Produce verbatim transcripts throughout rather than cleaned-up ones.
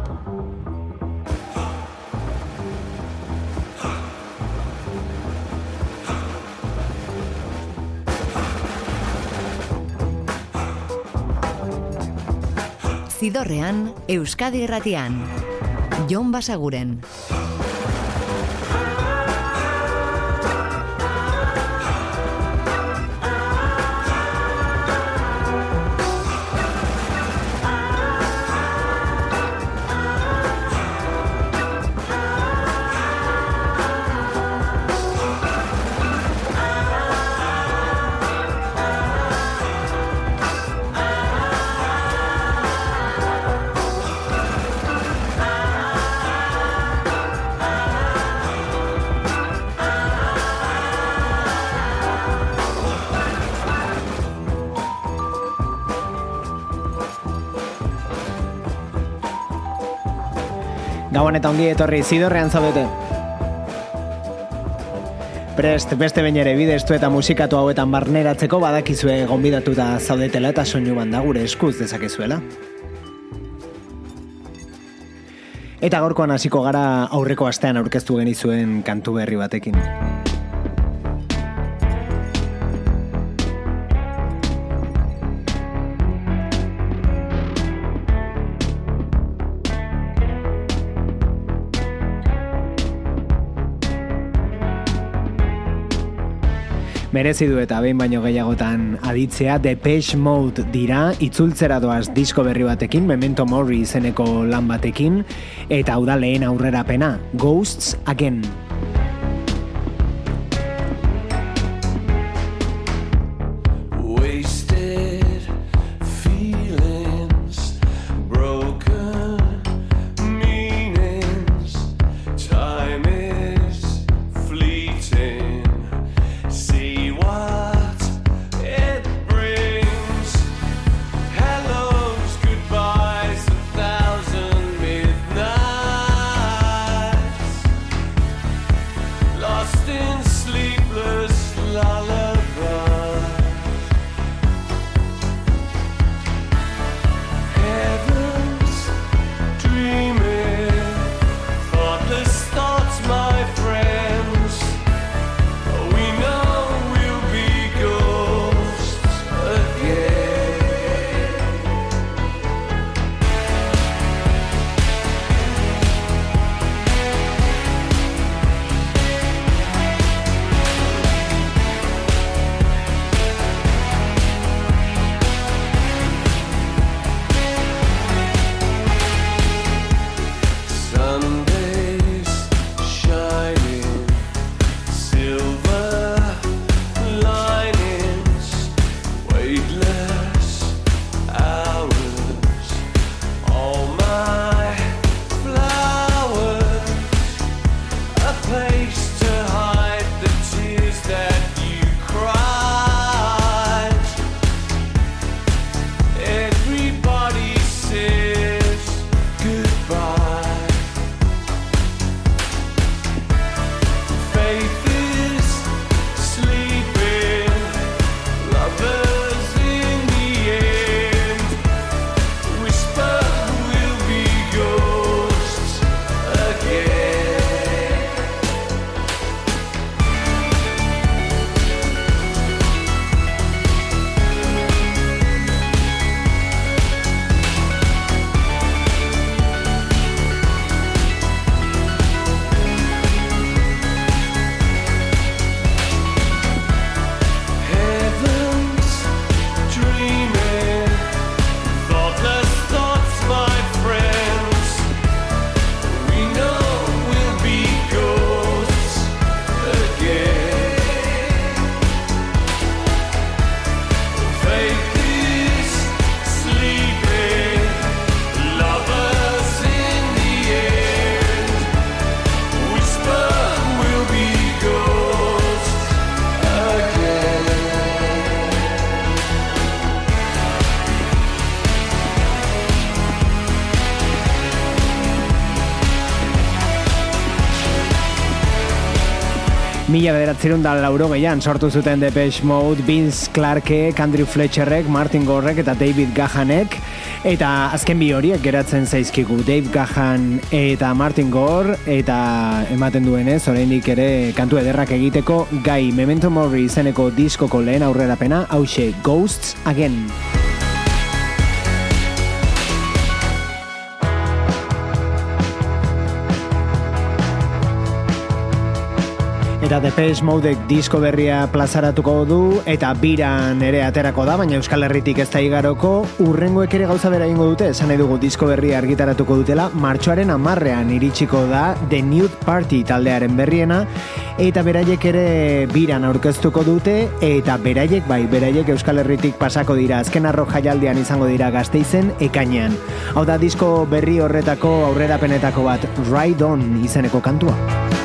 Zidorrean, Euskadi Irratian. Jon Basaguren. Gabon eta ongi etorri, Zidorrean zaudete. Prest, beste behin ere bidestu eta musikatu hauetan barneratzeko badakizue gonbidatuta zaudetela eta soinu banda gure eskuz dezakezuela. Eta gaurkoan hasiko gara aurreko astean aurkeztu genizuen kantu berri batekin. Merezi du eta behin baino gehiagotan aditzea, Depeche Mode dira, itzultzera doaz disko berri batekin, Memento Mori izeneko lan batekin, eta hau da lehen aurrerapena, Ghosts Again. Mila bederatzerun da lauro gehian sortu zuten Depeche Mode, Vince Clarke, Andrew Fletcherrek, Martin Gorrek eta David Gahanek, eta azken bi horiek geratzen zaizkigu, Dave Gahan eta Martin Gore, eta ematen duenez, oraindik ere kantu ederrak egiteko gai. Memento Mori izeneko diskoko lehen aurrerapena, hauxe Ghosts Again. Eta Depeche Modek disko berria plazaratuko du eta biran ere aterako da, baina Euskal Herritik ez da igaroko. Urrengoek ere gauza bera ingo dute, esan nahi dugu disko berria argitaratuko dutela, martxoaren hamarrean iritsiko da The Nude Party taldearen berriena, eta beraiek ere biran aurkeztuko dute, eta beraiek bai, beraiek Euskal Herritik pasako dira, azken arro jaialdian izango dira Gasteizen ekainean. Hau da disko berri horretako aurrerapenetako bat, Ride On izeneko kantua.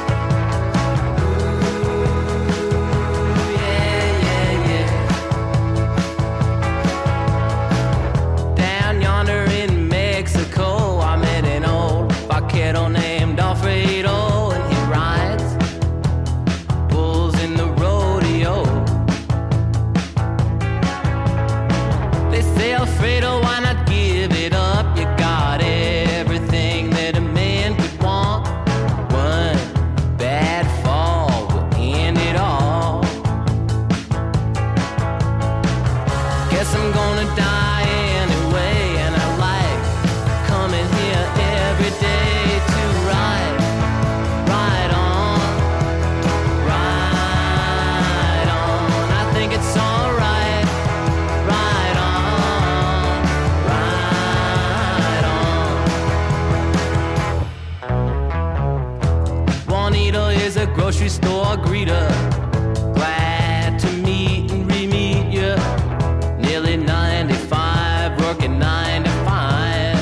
Grocery store greeter, glad to meet and re-meet you. Nearly ninety-five, working nine to five.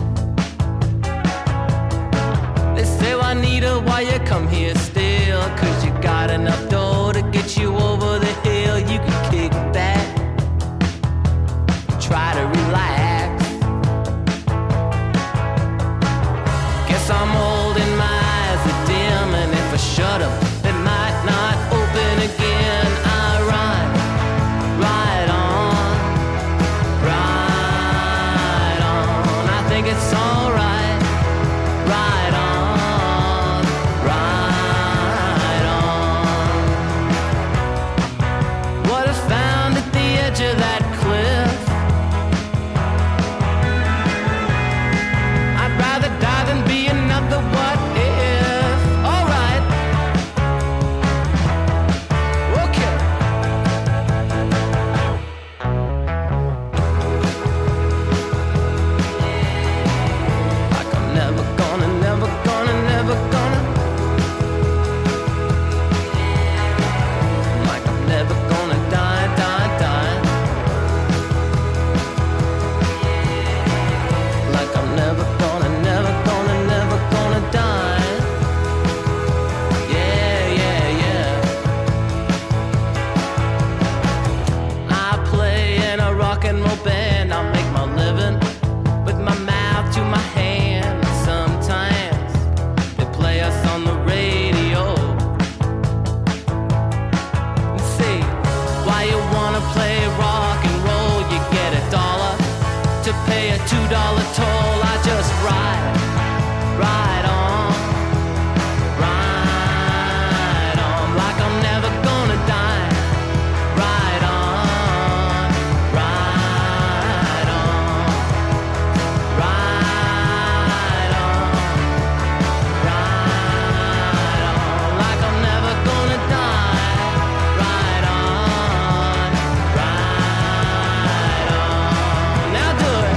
They say, Juanita, why you come here still? Cause you got enough dough to get you over the hill. You can kick back, try to relax. Guess I'm holding my eyes are dim, and if I shut up, they might not open again. I ride, ride on, ride on. I think it's alright. Ride on, ride on. What I found at the edge of that cliff, I'd rather die than be another what if. Alright, okay. Like I'm never gonna, never gonna, never gonna. Like I'm never gonna die, die, die. Like I'm never gonna, never gonna, never gonna die. Yeah, yeah, yeah. I play in a rock and roll band. I make my living with my mouth to my hand. Sometimes they play us on the radio. See, why you wanna play rock and roll? You get a dollar to pay a two dollar toll. I just ride, ride on, ride on. Like I'm never gonna die. Ride on, ride on, ride on, ride on. Like I'm never gonna die. Ride on, ride on. Now do it.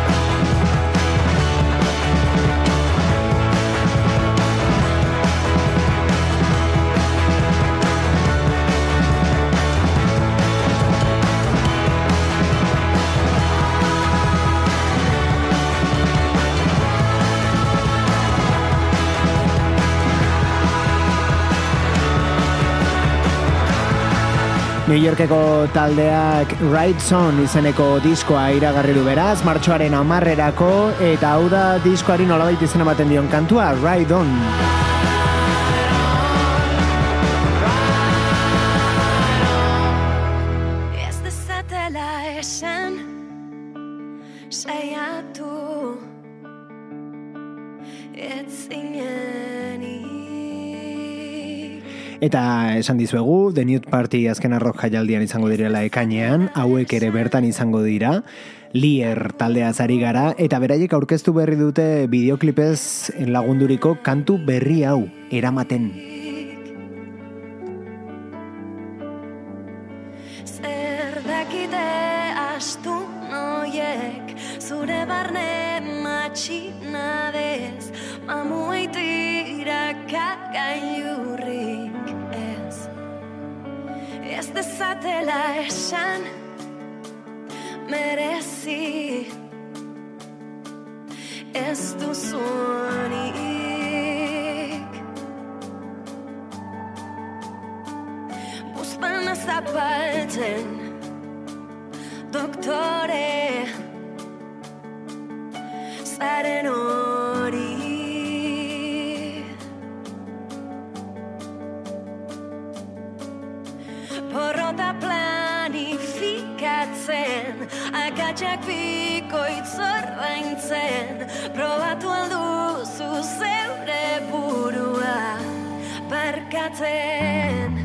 New Yorkeko taldeak Ride On izeneko diskoa iragarri du beraz, martxoaren hamarrerako, eta hau da diskoari nolabait izen ematen dion kantua, Ride On. Ride ez zinenik. Eta esan dizuegu, The Nude Party azken arrok jaialdian izango direla ekainean, hauek ere bertan izango dira, Lier taldea zari gara, eta beraiek aurkeztu berri dute bideoklipez lagunduriko kantu berri hau, Eramaten. Zer dakite astu noiek, zure barne matxinadez, mamueitira kagailurrik ez. Ez dezatela esan, merezi ez duzunik. Buzpana zapaltzen, doktore, zaren hori. Porrota planifikatzen, akatsak bikoitz ordaintzen, probatu alduzu zeure burua barkatzen.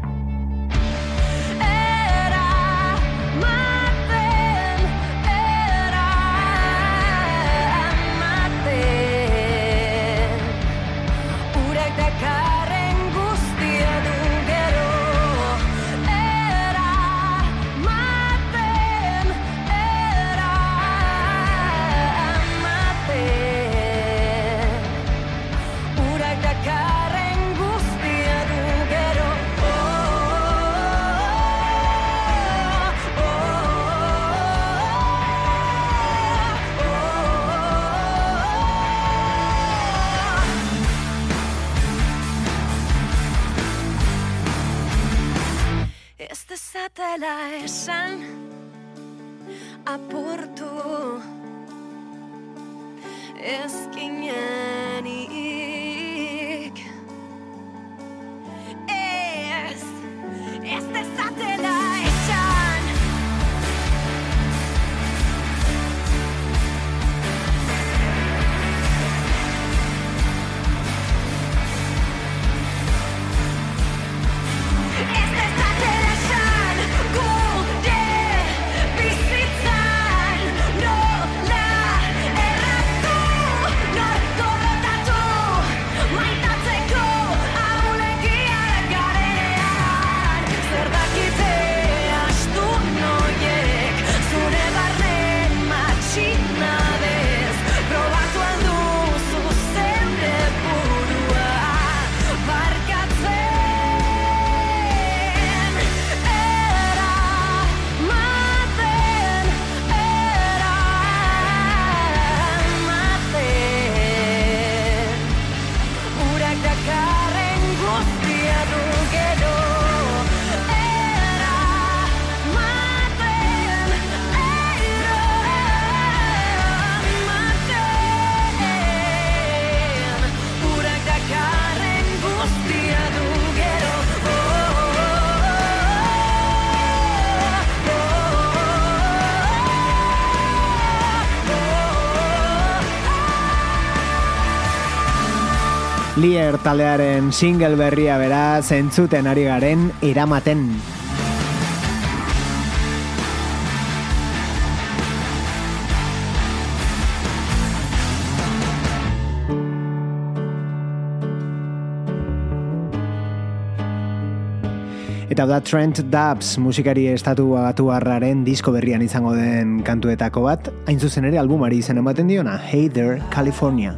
Zatela esan apurtu ezkinenik. Ez, ez dezatela esan. Ez dezatela esan. Gure bizitzan nola erratu, nor gorrotatu, maitatzeko ahulegiak garenean. Zer dakite astu noiek, zure barne matxinadez, probatu alduzu zeure burua barkatzen. Lier taldearen single berria bera zentzuten ari garen Eramaten. Eta da Trent Dubs musikari estatu batuarraren disko berrian izango den kantuetako bat, hain zuzen ere albumari izen ematen diona, Hey There, California.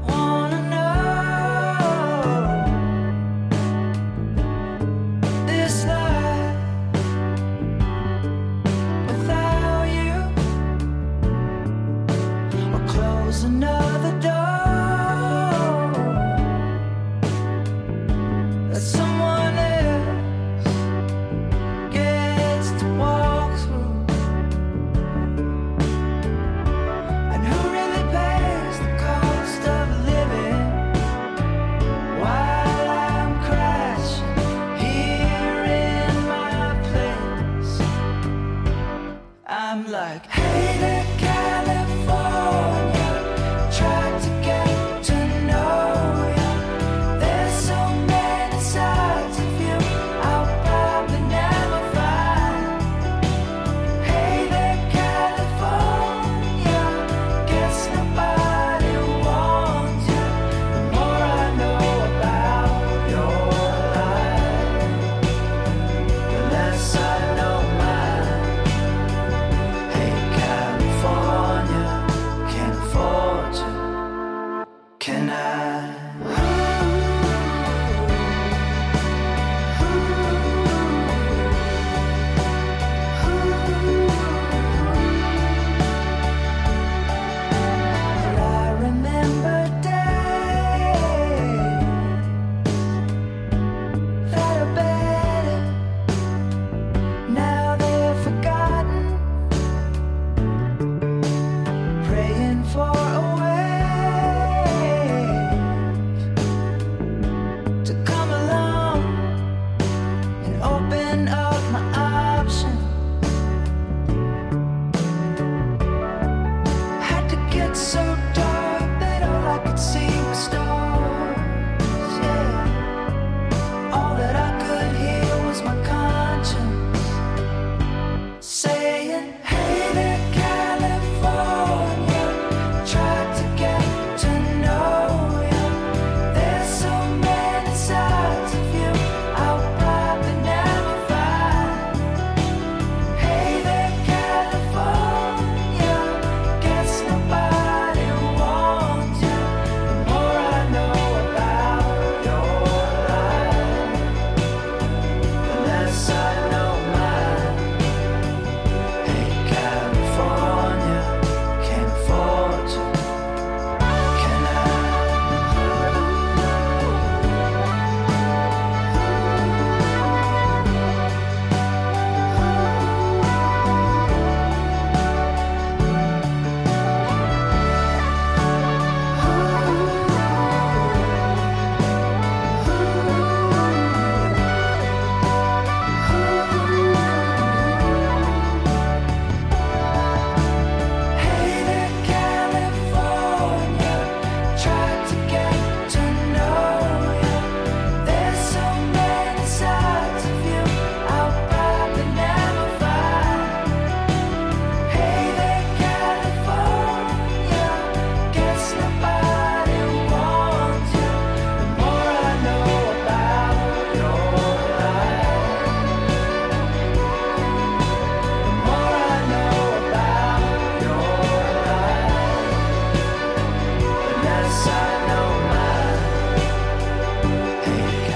And who really pays the cost of living?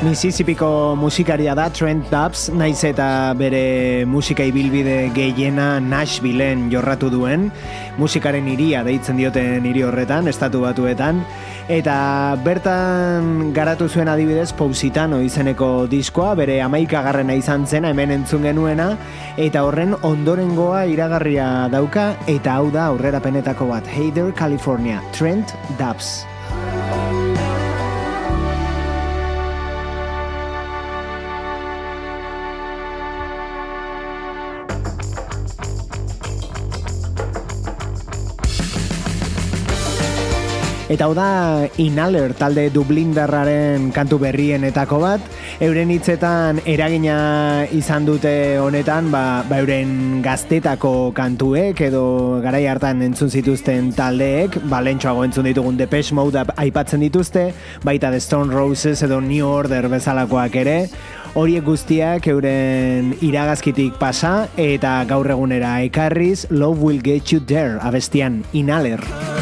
Mississippiko musikaria da Trent Dubs, naiz eta bere musika ibilbide gehiena Nashvilleen jorratu duen, musikaren hiria deitzen dioten hiri horretan, estatu batuetan, eta bertan garatu zuen adibidez Positano izeneko diskoa, bere hamaikagarrena izan zena hemen entzun genuena, eta horren ondorengoa iragarria dauka, eta hau da aurrerapenetako bat, Hey There California, Trent Dubs. Eta hau da Inhaler talde dublindarraren kantu berrienetako bat, euren hitzetan eragina izan dute honetan, ba, ba euren gaztetako kantuek edo garai hartan entzun zituzten taldeek, ba lentsuago entzun ditugun Depeche Mode aipatzen dituzte, baita The Stone Roses edo New Order bezalakoak ere, horiek guztiak euren iragazkitik pasa eta gaur egunera ekarriz Love Will Get You There abestian Inhaler.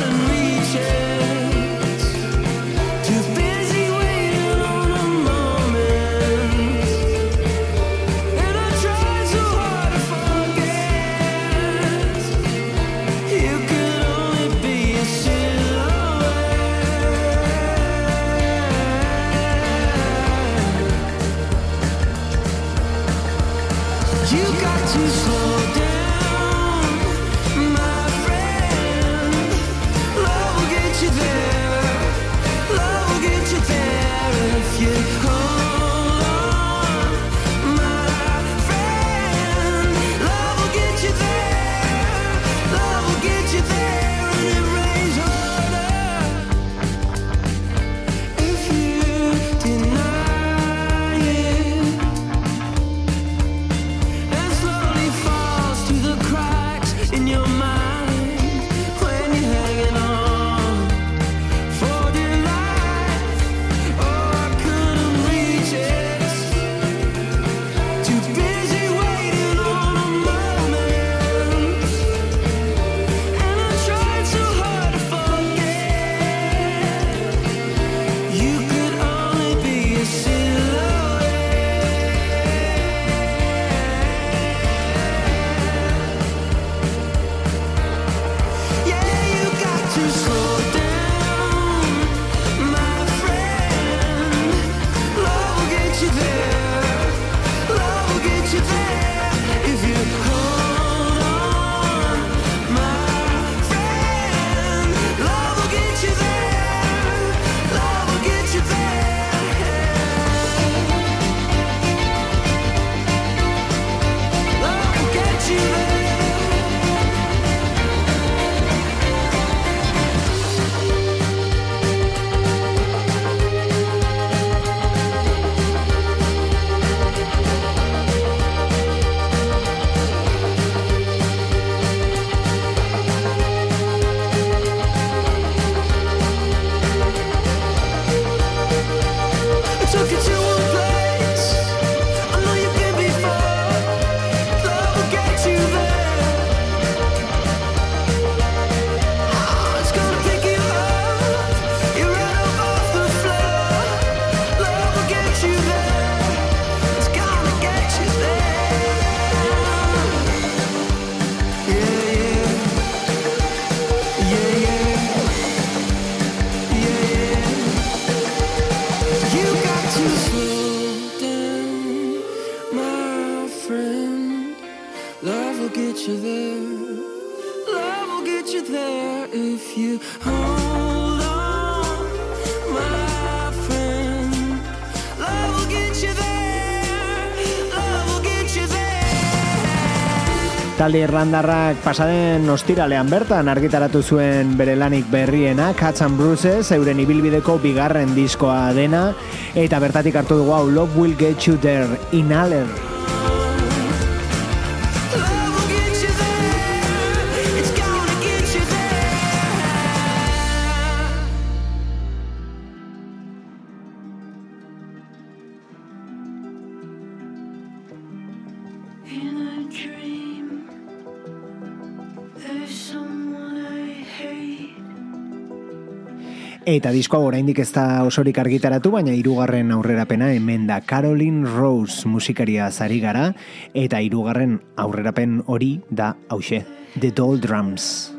Talde irlandarrak pasaden ostiralean bertan argitaratu zuen bere lanik berriena, Cuts and Bruises, euren ibilbideko bigarren diskoa dena, eta bertatik hartu dugu hau Love Will Get You There, Inhaler. Eta diskoa oraindik ez da osorik argitaratu, baina hirugarren aurrerapena hemen da. Caroline Rose musikaria zari gara, eta hirugarren aurrerapen hori da hauxe, The Doldrums.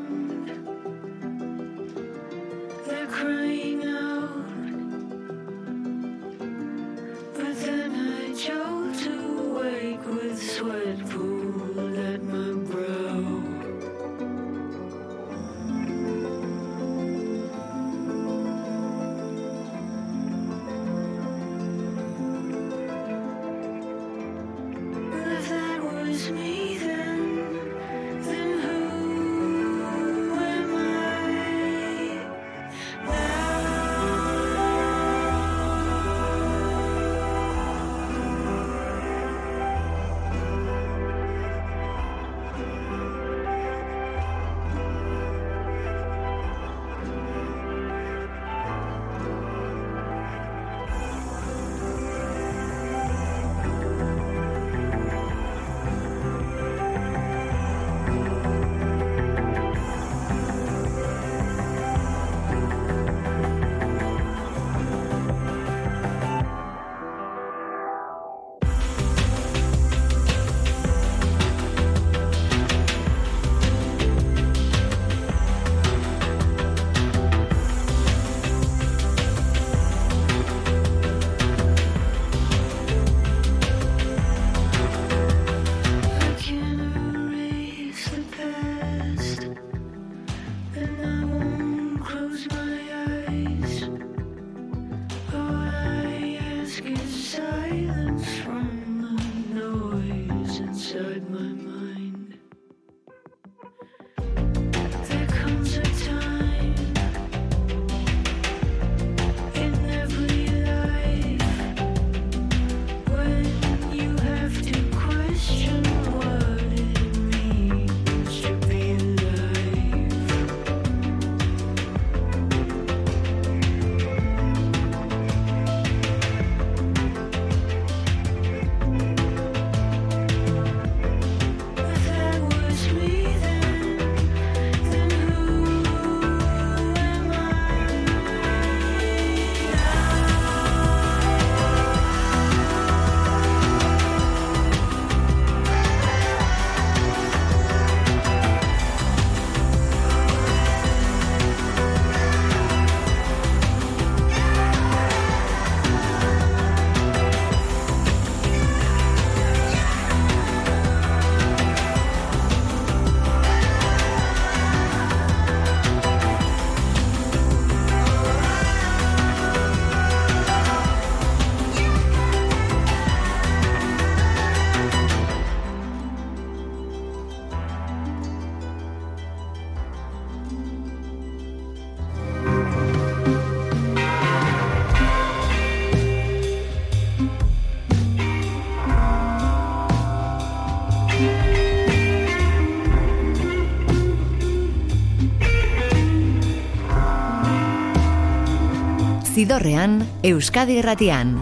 Zidorrean, Euskadi Irratian.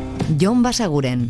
Jon Basaguren.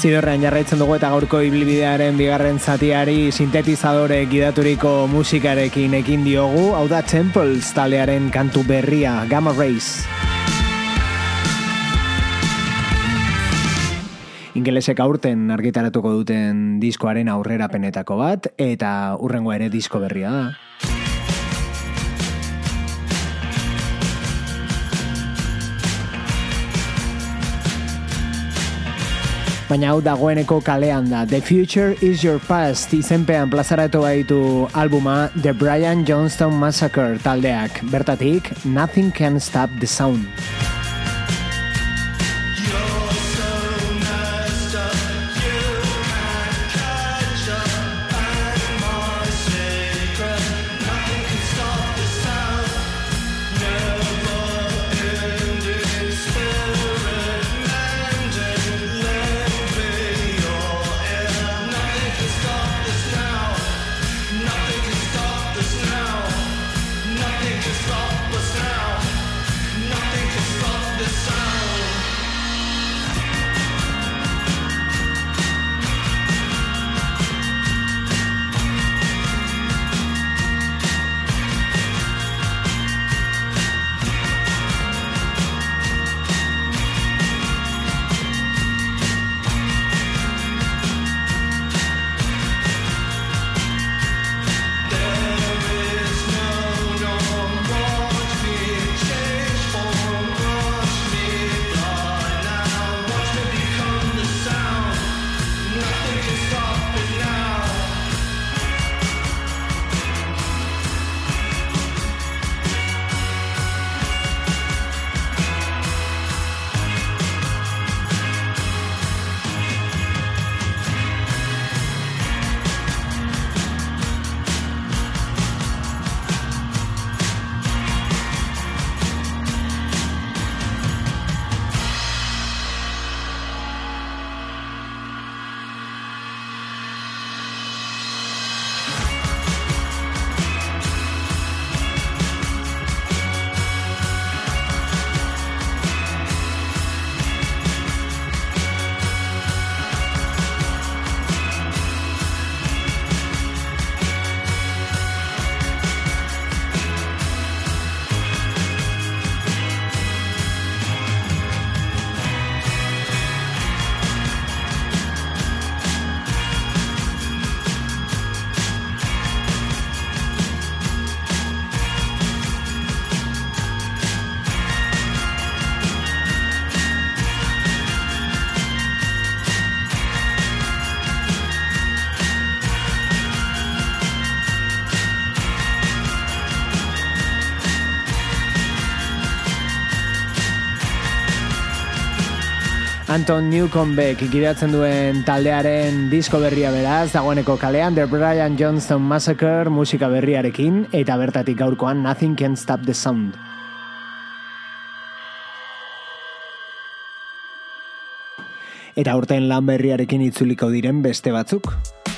Zidorrean jarraitzen dugu eta gaurko ibilbidearen bigarren zatiari sintetizadore gidaturiko musikarekin ekin diogu, hau da Temples taldearen kantu berria, Gamma Rays. Ingelesek aurten argitaratuko duten diskoaren aurrerapenetako bat, eta hurrengoa ere disko berria da. Baina hau dagoeneko kalean da. The Future is Your Past izenpean plazaratu baitu albuma The Brian Jonestown Massacre taldeak. Bertatik, Nothing Can Stop the Sound. Anton Newcombeck gidatzen duen taldearen disko berria beraz, dagoeneko kalean The Brian Jonestown Massacre musika berriarekin, eta bertatik gaurkoan Nothing Can Stop the Sound. Eta aurten lan berriarekin itzuliko diren beste batzuk.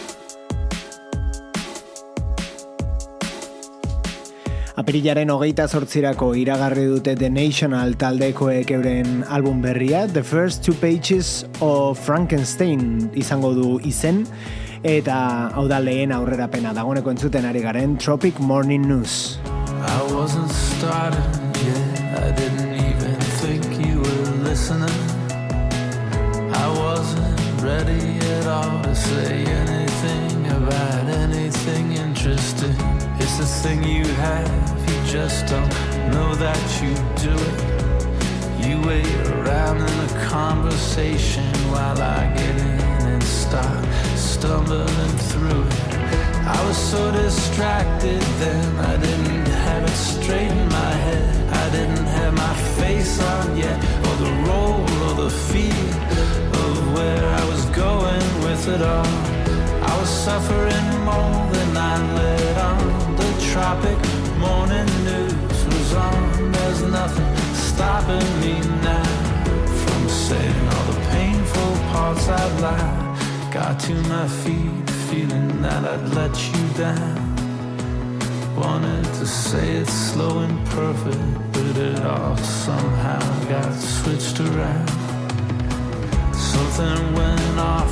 Apirilaren hogeita zortzirako iragarri dute The National taldekoek euren album berria, The First Two Pages of Frankenstein izango du izen, eta hau da lehen aurrerapena dagoeneko entzuten ari garen Tropic Morning News. I wasn't started yet, I didn't even think you were listening. I wasn't ready at all to say anything about anything interesting. It's a thing you have, you just don't know that you do it. You wait around in a conversation while I get in and start stumbling through it. I was so distracted then, I didn't have it straight in my head. I didn't have my face on yet, or the role or the feel of where I was going with it all. I was suffering more than I let on. The tropic morning news was on. There's nothing stopping me now from saying all the painful parts I'd lied. Got to my feet feeling that I'd let you down. Wanted to say it slow and perfect, but it all somehow got switched around. Something went off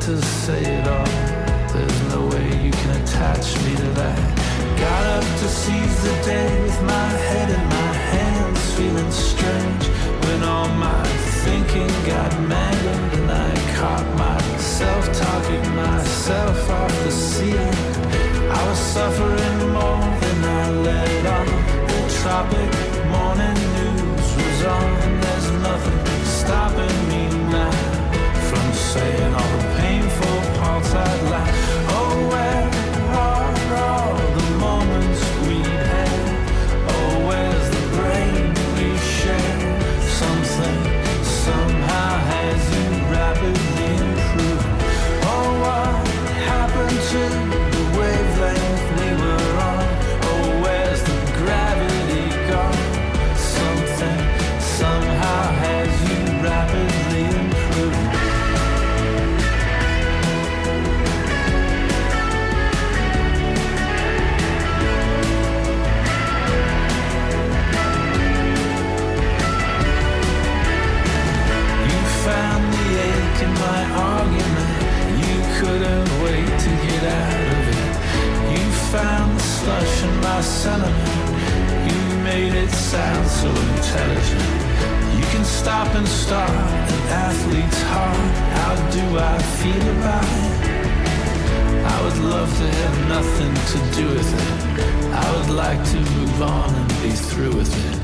to say it all. There's no way you can attach me to that. Got up to seize the day with my head in my hands, feeling strange when all my thinking got mangled and I caught myself talking myself off the ceiling. I was suffering more than I let on. The tropic morning news was on. There's nothing stopping me now from saying all the painful parts I'd like. Oh, where are all the moments we had? Oh, where's the brain we shared? Something somehow has you rapidly improved. Oh, what happened to the wavelength we were on? Oh, where's the gravity gone? Something somehow has you rapidly improved. Found the ache in my argument. You couldn't wait to get out of it. You found the slush in my sentiment. You made it sound so intelligent. You can stop and start an athlete's heart. How do I feel about it? I would love to have nothing to do with it. I would like to move on and be through with it.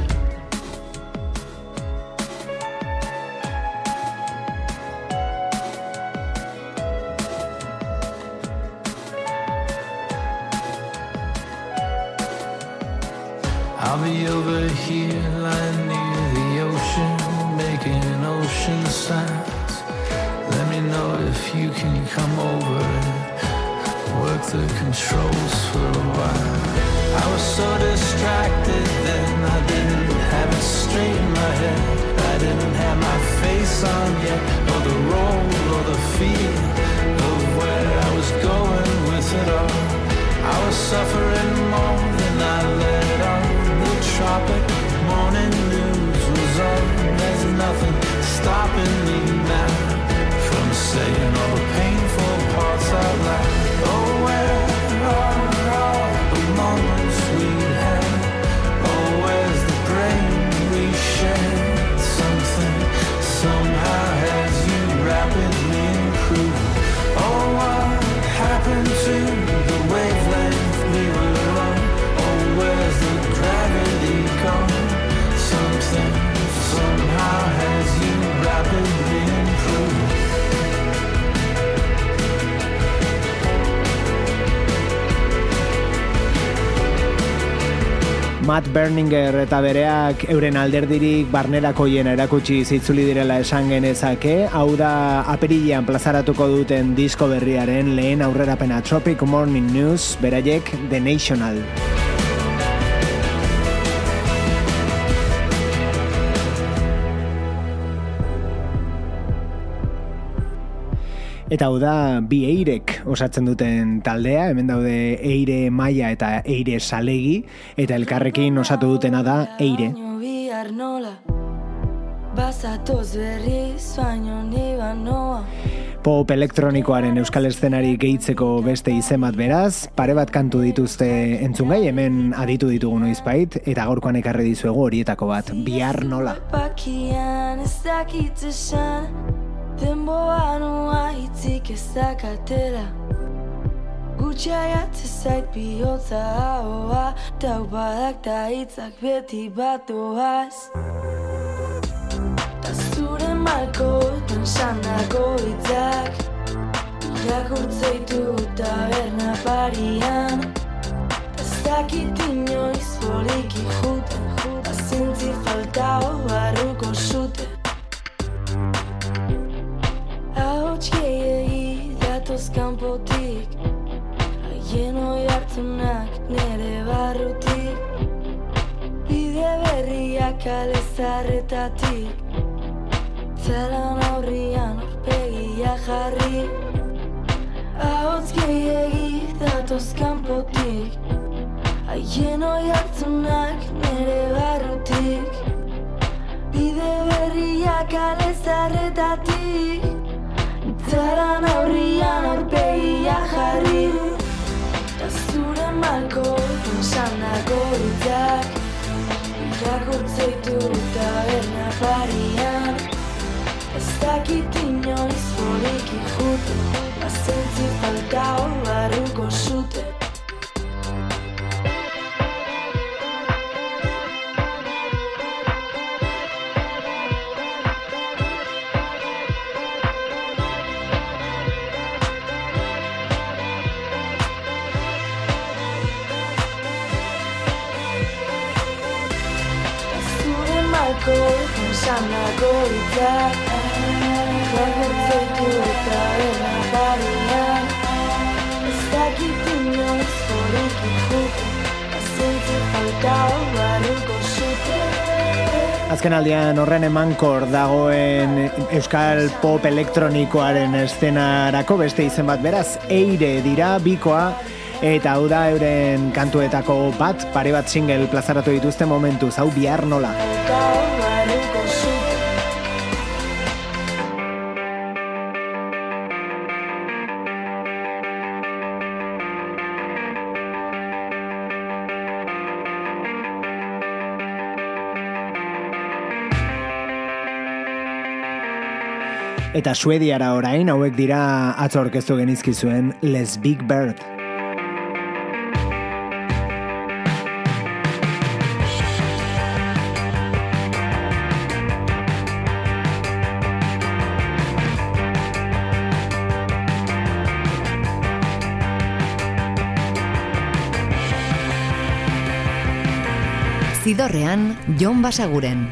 I'll be over here lying near the ocean, making ocean sounds. Let me know if you can come over and work the controls for a while. I was so distracted then, I didn't have it straight in my head. I didn't have my face on yet, or the role or the feel of where I was going with it all. I was suffering more than I let on. The tropic morning news was on. There's nothing stopping me now from saying all the painful parts out loud. Oh, where are all the moments we had? Oh, where's the brain we shared? Something somehow has you rapidly improved. Oh, what happened to the wavelength we were on? Oh, where's the gravity gone? Something somehow has you rapidly improved. Matt Berninger eta bereak euren alderdirik barnerakoiena erakutsi zitzuli direla esan genezake. Hau da apirilean plazaratuko duten disko berriaren lehen aurrerapena, Tropic Morning News, beraiek The National. Eta hau da bi eirek osatzen duten taldea, hemen daude Eire Maia eta Eire Salegi, eta elkarrekin osatu dutena da Eire. Pop elektronikoaren euskal eszenari gehitzeko beste izen bat beraz, pare bat kantu dituzte entzungai, hemen aditu ditugu noizbait, eta gaurkoan ekarri dizuegu horietako bat, Bihar Nola. Denboa noa hitzik ezakatela Gutxaiat zait bihotza ahoa Taupadak ta hitzak beti bat doaz Ta zure malkoetan sandako hitzak Irakurtzeitu taberna parian Ez dakit inoiz poliki juten Azintzi faltao barruko zute Ahots gehiegi datoz kanpotik Haien oi hartunak nere barrutik Bide berriak alezarretatik Zalan aurrian aurpegia jarri Ahots gehiegi datoz kanpotik Haien oi hartunak nere barrutik Bide berriak alezarretatik Zalan aurrian hitzak irakurtzeitu taberna parian ez dakit inoiz poliki jute azentzi faltao barruko zute Sanako hitzak irakurtzeitu taberna parian ez dakit inoiz poliki jute azentzi faltao barruko zute. Azken aldian horren emankor dagoen euskal pop elektronikoaren eszenarako beste izen bat beraz, Eire dira bikoa, eta hau da euren kantuetako bat, pare bat single plazaratu dituzte momentuz, hau Bihar nola. Eta Suediara orain, hauek dira atzo aurkeztu genizkizuen Les Big Bird. Zidorrean, Jon Basaguren.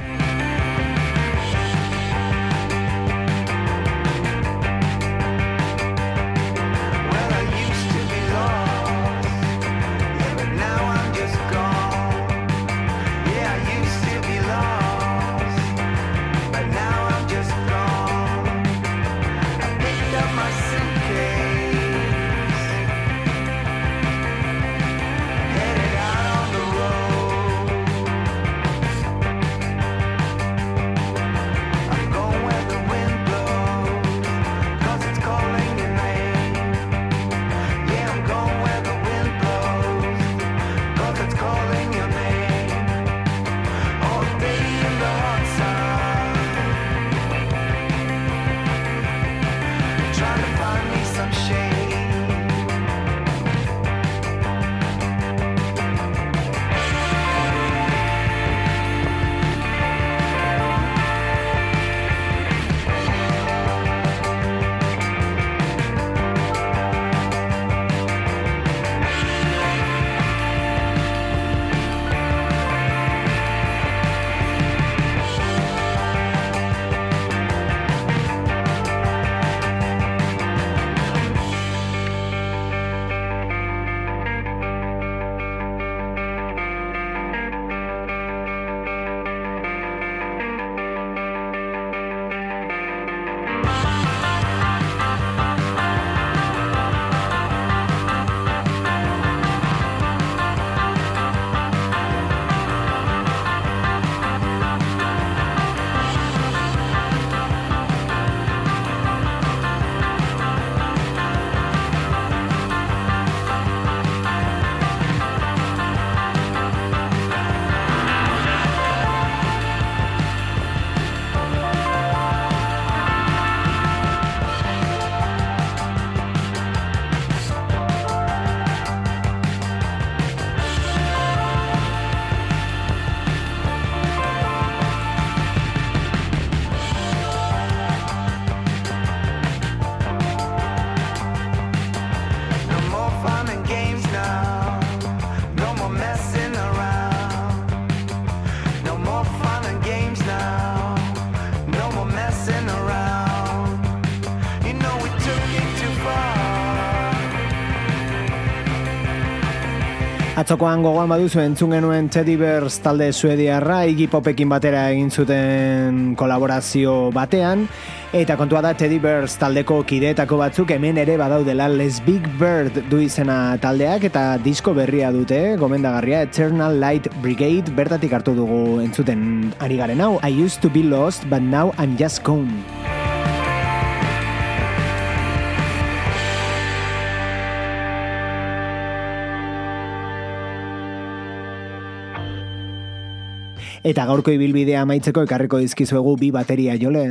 Atzokoan gogoan baduzu entzun genuen Teddy Bears talde suediarra Iggy Popekin batera egin zuten kolaborazio batean, eta kontua da Teddy Bears taldeko kideetako batzuk hemen ere badaudela. Les Big Bird du izena taldeak eta disko berria dute, gomendagarria, Eternal Light Brigade, bertatik hartu dugu entzuten ari garen hau, I used to be lost but now I'm just gone. Eta gaurko ibilbidea amaitzeko ekarriko dizkizuegu bi bateria jole.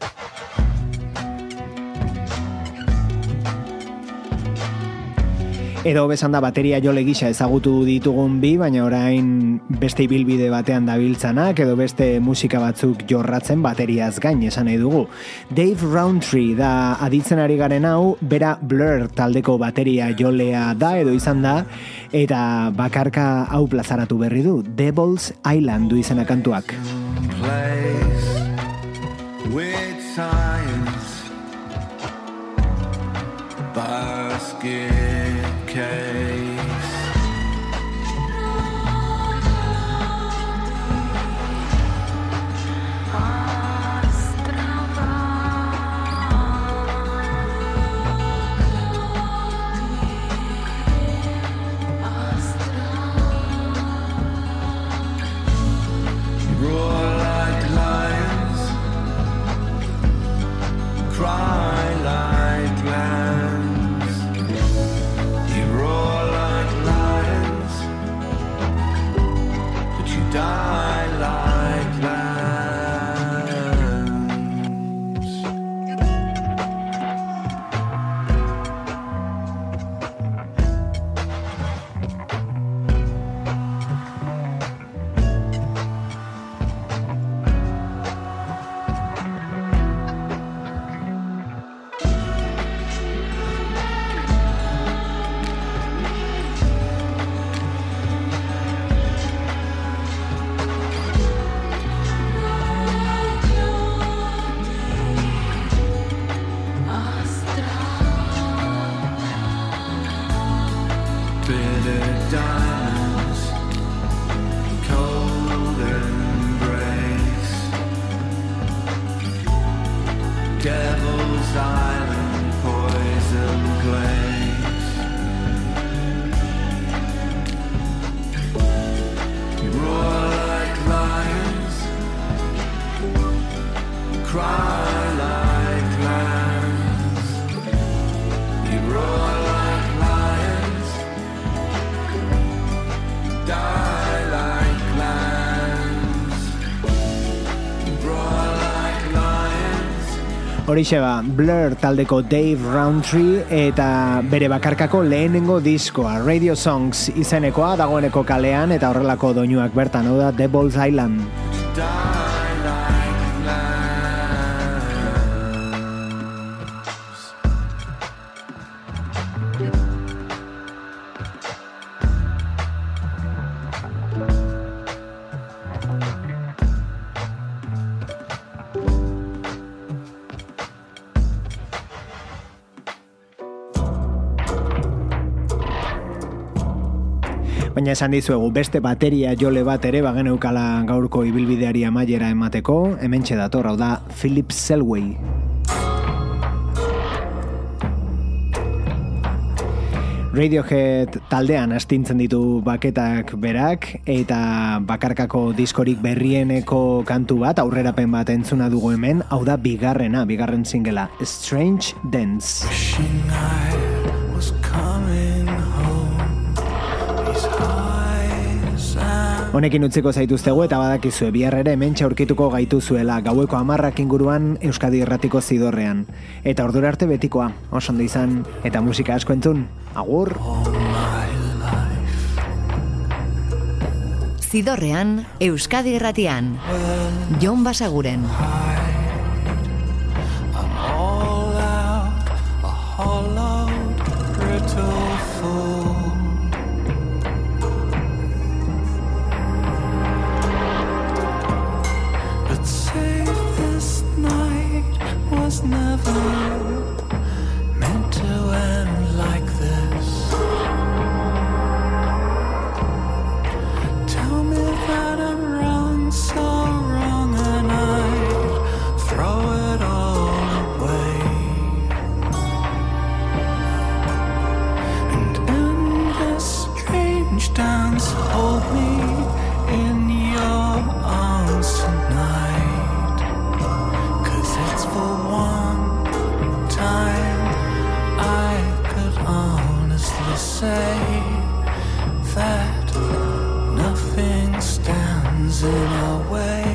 Edo besan da bateria jole gisa ezagutu ditugun bi, baina orain beste ibilbide batean dabiltzanak, edo beste musika batzuk jorratzen bateriaz gain esan nahi dugu. Dave Rowntree da aditzen ari garen hau, bera Blur taldeko bateria jolea da, edo izan da, eta bakarka hau plazaratu berri du, Devil's Island du izena kantuak. Place with science, basket case. Roar like lions, cry like lambs. You roar like lions, but you die like lambs. Bitter diamonds, cold embrace, Devil's Island, poison place. You roar like lions, cry like lambs. You roar like lions, die like lambs. Roar like lions. Horixe ba, Blur taldeko Dave Rowntree eta bere bakarkako lehenengo diskoa, Radio Songs izenekoa, dagoeneko kalean eta horrelako doinuak bertan, hau da Devil's Island. Die like lambs. Baina esan dizuegu beste bateria jole bat ere bageneukala gaurko ibilbideari amaiera emateko, hementxe dator, hau da Philip Selway. Radiohead taldean astintzen ditu baketak berak, eta bakarkako diskorik berrieneko kantu bat, aurrerapen bat entzuna dugu hemen, hau da bigarrena, bigarren singela, Strange Dance. Wishing I was coming home. These eyes and Honekin utziko zaituztegu eta badakizue bihar ere hementxe aurkituko gaituzuela gaueko hamarrak inguruan Euskadi Irratiko Zidorrean. Eta ordura arte betikoa, oso ondo izan eta musika asko entzun. Agur! Zidorrean, Euskadi Irratian. Jon Basaguren. I'm all out, a hollowed, brittle fool. But save this night was never meant to end like this. Tell me that I'm wrong, so wrong, and I'd throw it all away. And in this strange dance, hold me in your arms tonight. 'Cause it's for one in our way.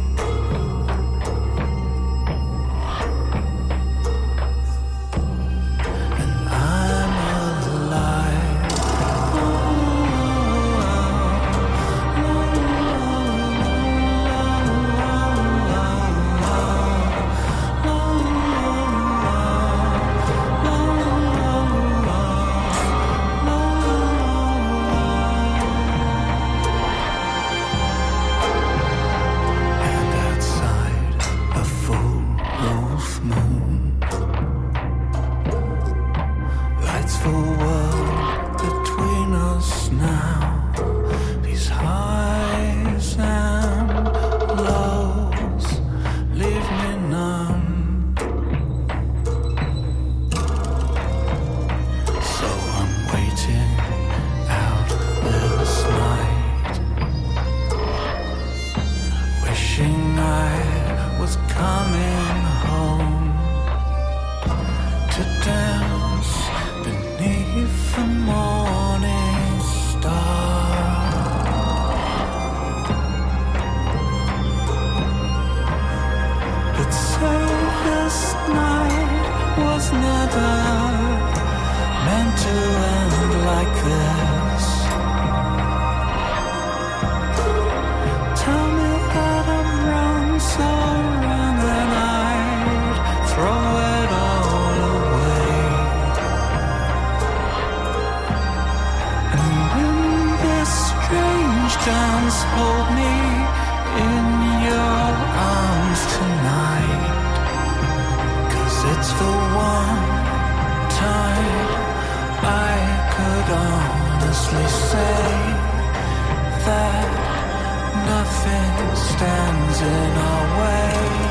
Dance, hold me in your arms tonight, 'cause it's the one time I could honestly say that nothing stands in our way.